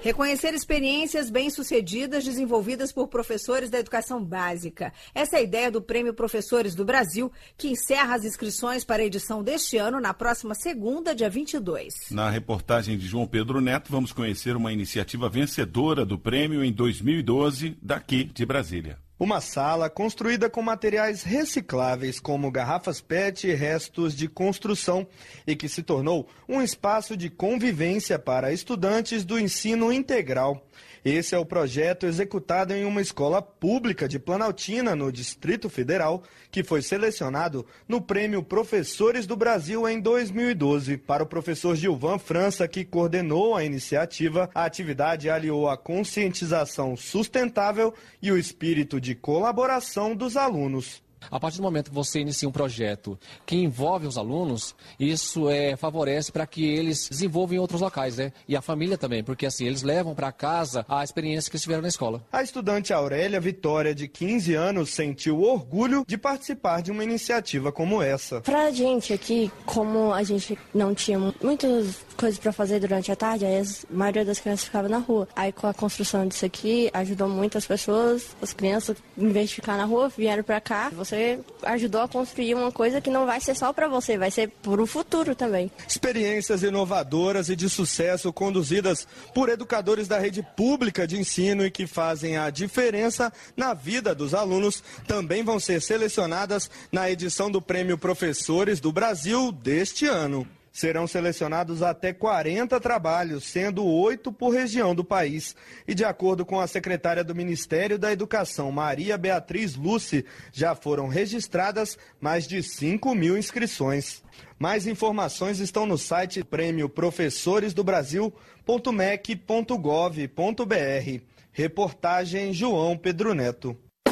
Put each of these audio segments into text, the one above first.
Reconhecer experiências bem-sucedidas desenvolvidas por professores da educação básica. Essa é a ideia do Prêmio Professores do Brasil, que encerra as inscrições para a edição deste ano na próxima segunda, dia 22. Na reportagem de João Pedro Neto, vamos conhecer uma iniciativa vencedora do prêmio em 2012, daqui de Brasília. Uma sala construída com materiais recicláveis, como garrafas PET e restos de construção, e que se tornou um espaço de convivência para estudantes do ensino integral. Esse é o projeto executado em uma escola pública de Planaltina, no Distrito Federal, que foi selecionado no Prêmio Professores do Brasil em 2012. Para o professor Gilvan França, que coordenou a iniciativa, a atividade aliou a conscientização sustentável e o espírito de colaboração dos alunos. A partir do momento que você inicia um projeto que envolve os alunos, isso favorece para que eles desenvolvam em outros locais, né? E a família também, porque assim, eles levam para casa a experiência que eles tiveram na escola. A estudante Aurélia Vitória, de 15 anos, sentiu orgulho de participar de uma iniciativa como essa. Pra gente aqui, como a gente não tinha muitas coisas para fazer durante a tarde, aí a maioria das crianças ficava na rua. Aí com a construção disso aqui, ajudou muitas pessoas, as crianças, em vez de ficar na rua, vieram para cá. Você ajudou a construir uma coisa que não vai ser só para você, vai ser para o futuro também. Experiências inovadoras e de sucesso conduzidas por educadores da rede pública de ensino e que fazem a diferença na vida dos alunos também vão ser selecionadas na edição do Prêmio Professores do Brasil deste ano. Serão selecionados até 40 trabalhos, sendo 8 por região do país. E de acordo com a secretária do Ministério da Educação, Maria Beatriz Lúcia, já foram registradas mais de 5.000 inscrições. Mais informações estão no site prêmioprofessoresdobrasil.mec.gov.br. Reportagem João Pedro Neto.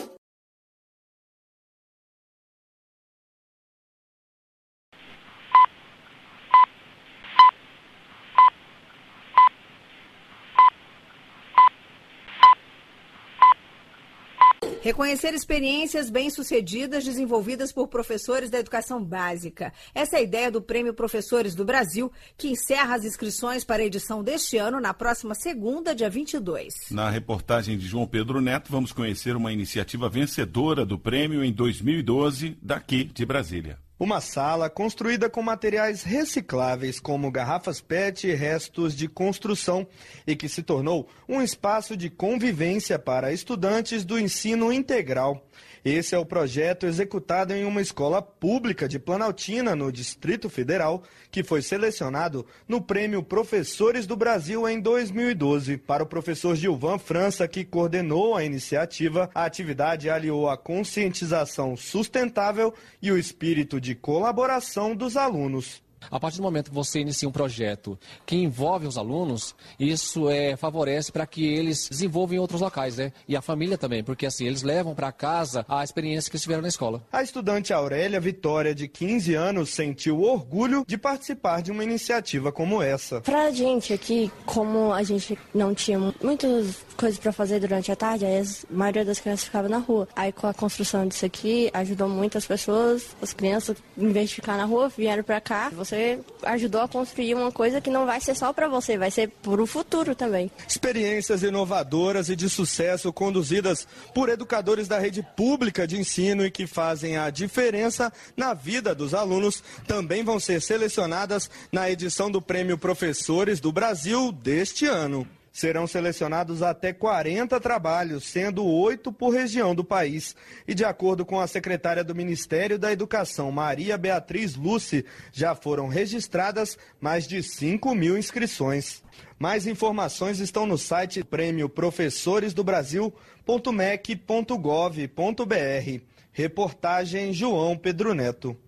Reconhecer experiências bem-sucedidas desenvolvidas por professores da educação básica. Essa é a ideia do Prêmio Professores do Brasil, que encerra as inscrições para a edição deste ano na próxima segunda, dia 22. Na reportagem de João Pedro Neto, vamos conhecer uma iniciativa vencedora do prêmio em 2012, daqui de Brasília. Uma sala construída com materiais recicláveis, como garrafas PET e restos de construção, e que se tornou um espaço de convivência para estudantes do ensino integral. Esse é o projeto executado em uma escola pública de Planaltina, no Distrito Federal, que foi selecionado no Prêmio Professores do Brasil em 2012. Para o professor Gilvan França, que coordenou a iniciativa, a atividade aliou a conscientização sustentável e o espírito de colaboração dos alunos. A partir do momento que você inicia um projeto que envolve os alunos, isso favorece para que eles desenvolvam em outros locais, né? E a família também, porque assim, eles levam para casa a experiência que eles tiveram na escola. A estudante Aurélia Vitória, de 15 anos, sentiu orgulho de participar de uma iniciativa como essa. Pra gente aqui, como a gente não tinha muitas coisas para fazer durante a tarde, aí a maioria das crianças ficava na rua. Aí com a construção disso aqui, ajudou muitas pessoas, as crianças, em vez de ficar na rua, vieram para cá. Você ajudou a construir uma coisa que não vai ser só para você, vai ser para o futuro também. Experiências inovadoras e de sucesso conduzidas por educadores da rede pública de ensino e que fazem a diferença na vida dos alunos também vão ser selecionadas na edição do Prêmio Professores do Brasil deste ano. Serão selecionados até 40 trabalhos, sendo 8 por região do país. E de acordo com a secretária do Ministério da Educação, Maria Beatriz Lúcia, já foram registradas mais de 5.000 inscrições. Mais informações estão no site prêmioprofessoresdobrasil.mec.gov.br. Reportagem João Pedro Neto.